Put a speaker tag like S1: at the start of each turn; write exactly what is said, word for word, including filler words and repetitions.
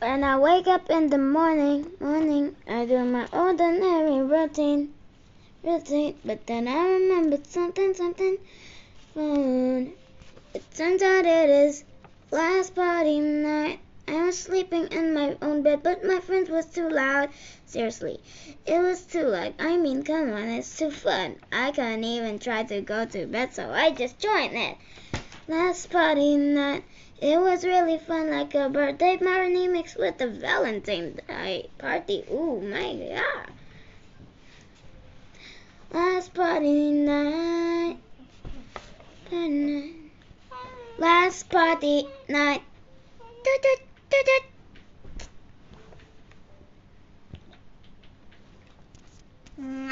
S1: When I wake up in the morning, morning, I do my ordinary routine, routine. But then I remembered something, something fun. It turns out it is last party night. I was sleeping in my own bed, but my friends was too loud. Seriously, it was too loud. I mean, come on, it's too fun. I couldn't even try to go to bed, so I just joined it. Last party night, it was really fun, like a birthday party mixed with a Valentine's Day party. Ooh, my God. Last party night, party night. Last party night. Doot, doot, doot, doot.